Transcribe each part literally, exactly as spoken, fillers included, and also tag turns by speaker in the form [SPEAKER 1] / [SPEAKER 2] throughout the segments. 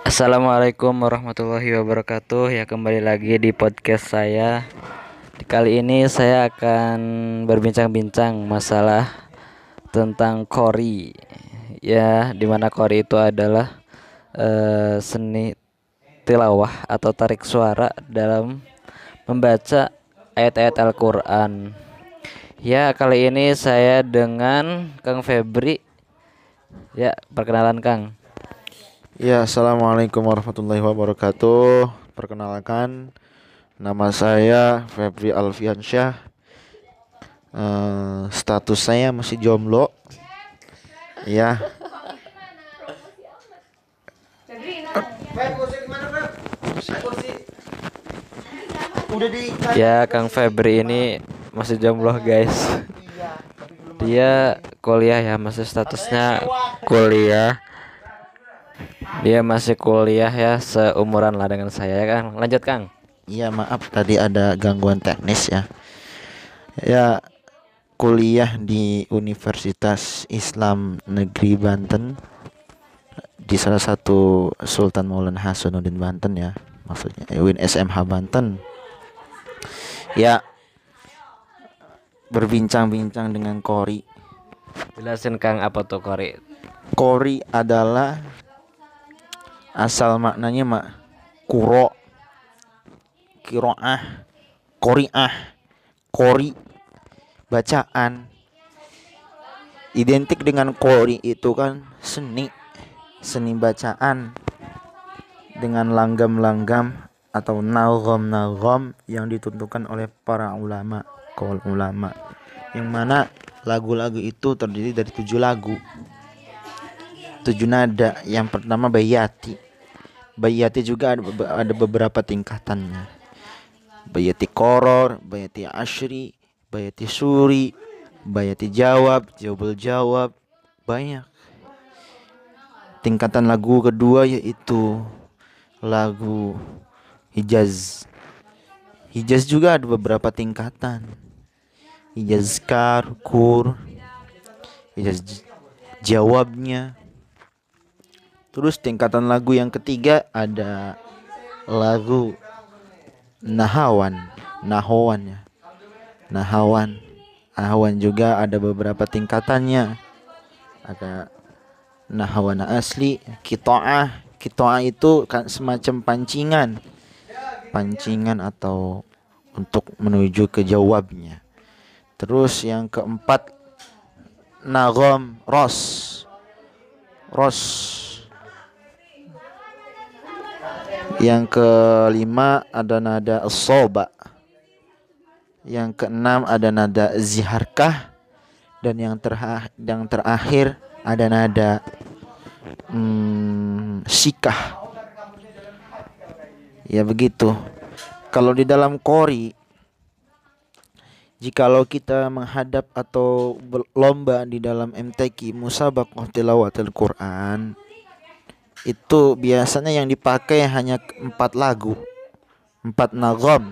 [SPEAKER 1] Assalamualaikum warahmatullahi wabarakatuh. Ya, kembali lagi di podcast saya. Kali ini saya akan berbincang-bincang masalah tentang qori. Ya, dimana qori itu adalah eh, seni tilawah atau tarik suara dalam membaca ayat-ayat Al-Quran. Ya, kali ini saya dengan Kang Febri. Ya, perkenalan Kang.
[SPEAKER 2] Ya, assalamualaikum warahmatullahi wabarakatuh. Perkenalkan, nama saya Febri Alfiansyah. Eh, status saya masih jomblo. Ya, udah di.
[SPEAKER 1] Ya, Kang Febri ini masih jomblo, guys. Dia kuliah ya, masih statusnya kuliah. Dia masih kuliah ya, seumuran lah dengan saya ya, Kang. Lanjut, Kang.
[SPEAKER 2] Iya, maaf tadi ada gangguan teknis ya. Ya, kuliah di Universitas Islam Negeri Banten, di salah satu Sultan Maulana Hasanuddin Banten ya. Maksudnya eh, U I N S M H Banten. Ya, berbincang-bincang dengan Kori.
[SPEAKER 1] Jelasin, Kang, apa tuh qori?
[SPEAKER 2] Kori adalah asal maknanya mak kuro, kiroah, koriah, kori, bacaan. Identik dengan kori itu kan seni, seni bacaan dengan langgam-langgam atau nagom-nagom yang ditentukan oleh para ulama, kaul ulama, yang mana lagu-lagu itu terdiri dari tujuh lagu, tujuh nada. Yang pertama bayati. Bayati juga ada, ada beberapa tingkatannya. Bayati koror, bayati ashri, bayati suri, bayati jawab, jawabul jawab. Banyak. Tingkatan lagu kedua yaitu lagu hijaz. Hijaz juga ada beberapa tingkatan. Hijaz kar, kur, hijaz j- jawabnya. Terus tingkatan lagu yang ketiga ada lagu nahawan, nahawan ya. Nahawan. Nahawan juga ada beberapa tingkatannya. Ada nahawan asli, kitoah. Kitoah itu kan semacam pancingan. Pancingan atau untuk menuju ke jawabnya. Terus yang keempat nagom ros. Ros. Yang kelima ada nada soba. Yang keenam ada nada ziharkah. Dan yang, terha- yang terakhir ada nada hmm, sikah. Ya begitu. Kalau di dalam kori, jikalau kita menghadap atau berlomba di dalam M T Q Musabaqah Tilawatil Quran, itu biasanya yang dipakai hanya empat lagu, empat nagom.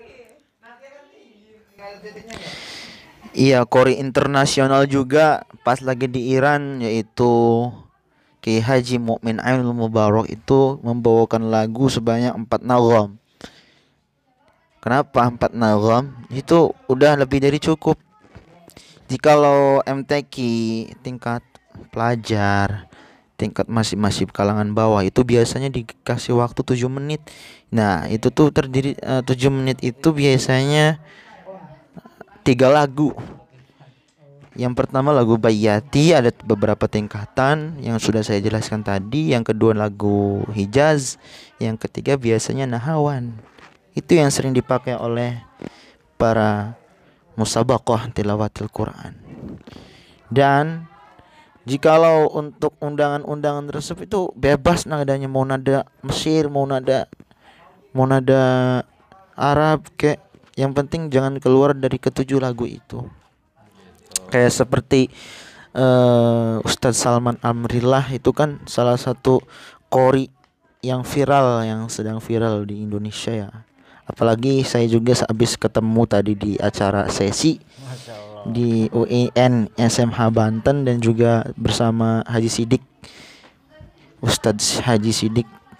[SPEAKER 2] Iya, kori internasional juga pas lagi di Iran, yaitu Kiai Haji Mukmin Ainul Mubarak itu membawakan lagu sebanyak empat nagom. Kenapa empat nagom? Itu udah lebih dari cukup. Jikalau M T Q tingkat pelajar, tingkat masih masih kalangan bawah, itu biasanya dikasih waktu tujuh menit. Nah, itu tuh terdiri uh, tujuh menit itu biasanya tiga lagu. Yang pertama lagu Bayati, ada beberapa tingkatan yang sudah saya jelaskan tadi. Yang kedua lagu Hijaz. Yang ketiga biasanya Nahawan. Itu yang sering dipakai oleh para musabaqah tilawatil Quran. Dan jikalau untuk undangan-undangan tersebut itu bebas nadanya, mau nada Mesir, mau nada mau nada Arab, kayak yang penting jangan keluar dari ketujuh lagu itu. Kayak seperti uh, Ustadz Salman Amrillah itu kan salah satu qori yang viral, yang sedang viral di Indonesia ya. Apalagi saya juga habis ketemu tadi di acara sesi di U I N S M H Banten dan juga bersama Haji Sidik, Ustadz Haji Sidik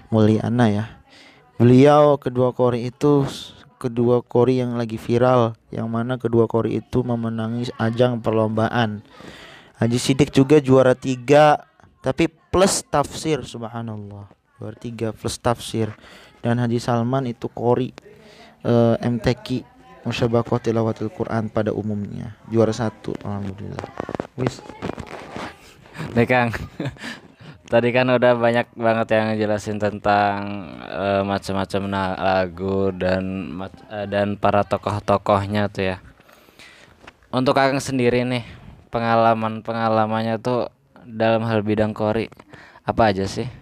[SPEAKER 2] Mulyana ya. Beliau kedua kori itu kedua kori yang lagi viral, yang mana kedua kori itu memenangi ajang perlombaan. Haji Sidik juga juara tiga, tapi plus tafsir, subhanallah. Juara tiga plus tafsir. Dan Haji Salman itu kori eh, M T Q Musyabaqah Tilawatil Quran pada umumnya, juara satu, alhamdulillah. Wis.
[SPEAKER 1] Nih Kang, tadi kan udah banyak banget yang jelasin tentang eh, macam-macam na- lagu dan mac- eh, dan para tokoh-tokohnya tuh ya. Untuk Kang sendiri nih, pengalaman-pengalamannya tuh dalam hal bidang kori apa aja sih?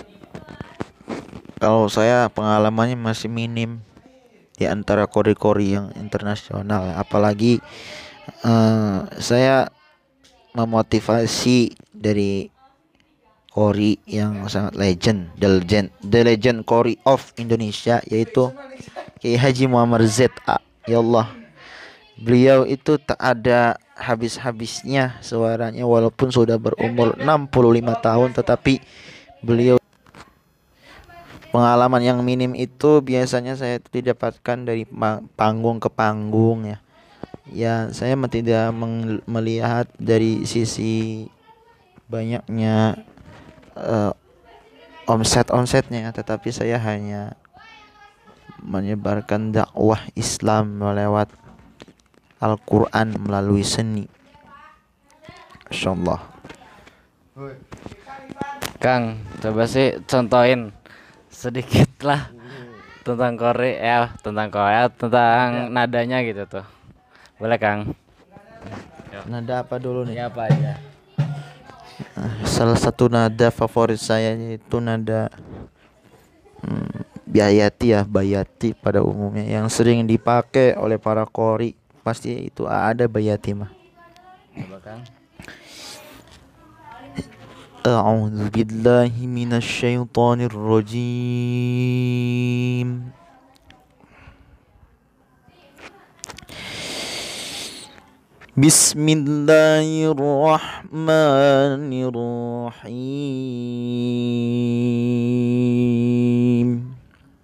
[SPEAKER 2] Kalau saya pengalamannya masih minim di antara kori-kori yang internasional, apalagi eh, saya memotivasi dari kori yang sangat legend, the legend, the legend kori of Indonesia, yaitu Kiai Haji Muhammad Z A. Ya Allah, beliau itu tak ada habis-habisnya suaranya, walaupun sudah berumur enam puluh lima tahun, tetapi beliau pengalaman yang minim itu biasanya saya didapatkan dari ma- panggung ke panggung ya. Ya, saya me- tidak meng- melihat dari sisi banyaknya eh, omset-omsetnya, tetapi saya hanya menyebarkan dakwah Islam lewat Al-Quran melalui seni. Insyaallah.
[SPEAKER 1] Kang, coba sih contohin sedikit lah tentang kori ya, tentang kori, tentang nadanya gitu tuh. Boleh Kang?
[SPEAKER 2] Nada apa dulu nih?
[SPEAKER 1] Ya apa aja?
[SPEAKER 2] Salah satu nada favorit saya itu nada hmm, Bayati ya, Bayati pada umumnya yang sering dipakai oleh para kori. Pasti itu ada Bayati mah.
[SPEAKER 1] Coba Kang.
[SPEAKER 2] A'udzu billahi minasy syaithanir rajim. Bismillahirrahmanirrahim.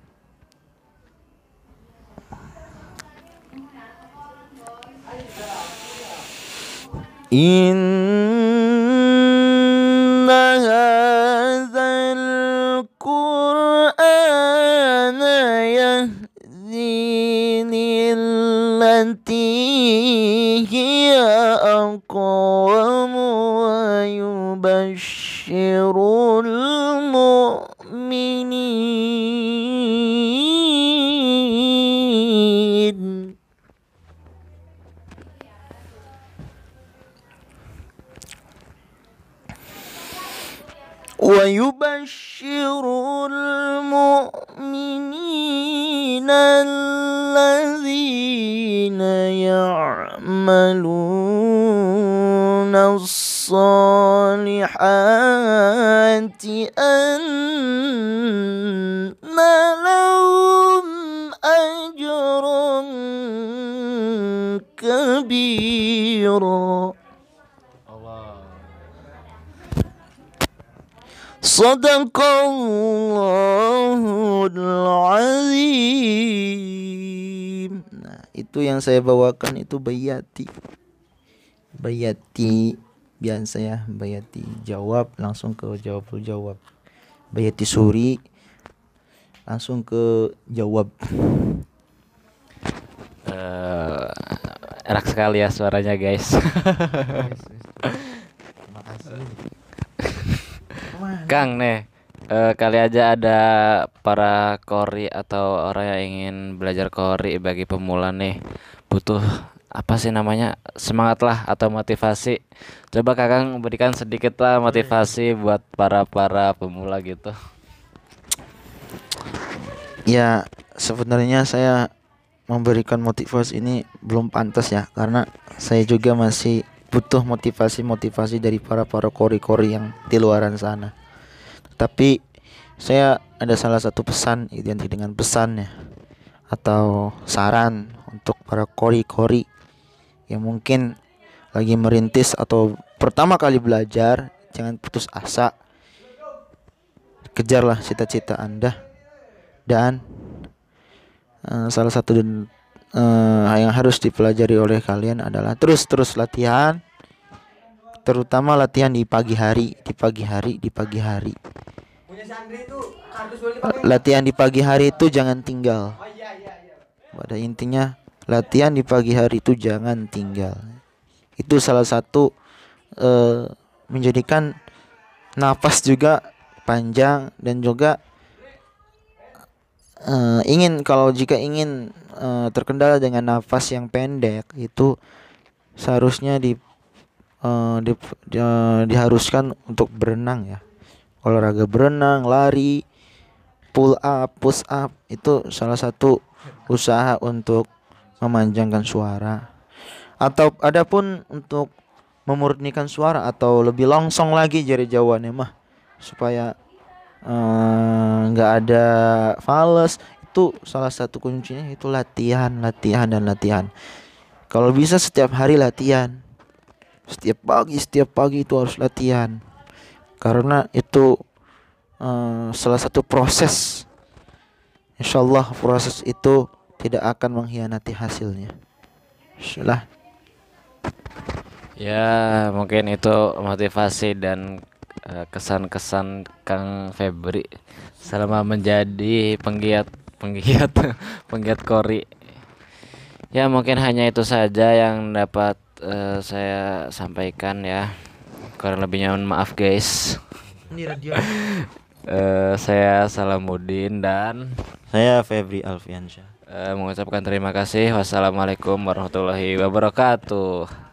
[SPEAKER 2] Inna hadzal Qur'ana yahdi lillati hiya aqwam wa yubashshirul mu'minin. ويبشر المؤمنين الذين يعملون الصالحات أن لهم أجرا كبيرا. Sadaqallahul azim. Nah, itu yang saya bawakan itu Bayati. Bayati biasa ya, Bayati jawab langsung ke jawab jawab. Bayati suri langsung ke jawab.
[SPEAKER 1] Eh, enak sekali ya suaranya guys.
[SPEAKER 2] Terima kasih.
[SPEAKER 1] Kang nih, eh, kali aja ada para kori atau orang yang ingin belajar kori bagi pemula nih, butuh apa sih namanya, semangat lah atau motivasi. Coba Kakang berikan sedikit lah motivasi buat para para pemula gitu.
[SPEAKER 2] Ya, sebenarnya saya memberikan motivasi ini belum pantas ya, karena saya juga masih butuh motivasi-motivasi dari para para kori-kori yang di luaran sana. Tapi saya ada salah satu pesan, identik dengan pesan ya, atau saran untuk para kori-kori yang mungkin lagi merintis atau pertama kali belajar. Jangan putus asa. kejarlah cita-cita Anda. Dan uh, salah satu dan uh, yang harus dipelajari oleh kalian adalah terus-terus latihan, terutama latihan di pagi hari, di pagi hari, di pagi hari. Latihan di pagi hari itu jangan tinggal. Pada intinya latihan di pagi hari itu jangan tinggal. Itu salah satu uh, menjadikan nafas juga panjang, dan juga uh, ingin kalau jika ingin uh, terkendala dengan nafas yang pendek, itu seharusnya di, uh, di, di uh, diharuskan untuk berenang ya. Olahraga berenang, lari, pull up, push up, itu salah satu usaha untuk memanjangkan suara. Atau adapun untuk memurnikan suara atau lebih longsong lagi jari jawabannya mah, supaya nggak uh, ada fales, itu salah satu kuncinya itu latihan, latihan dan latihan. Kalau bisa setiap hari latihan, setiap pagi, setiap pagi itu harus latihan, karena itu uh, salah satu proses. Insyaallah proses itu tidak akan mengkhianati hasilnya. Insyaallah.
[SPEAKER 1] Ya, mungkin itu motivasi dan uh, kesan-kesan Kang Febri selama menjadi penggiat penggiat penggiat kori. Ya, mungkin hanya itu saja yang dapat uh, saya sampaikan ya. Kurang lebihnya mohon maaf guys.
[SPEAKER 2] Ini radio.
[SPEAKER 1] uh, saya Salamuddin dan
[SPEAKER 2] Saya Febri Alfiansyah.
[SPEAKER 1] uh, mengucapkan terima kasih. Wassalamualaikum warahmatullahi wabarakatuh.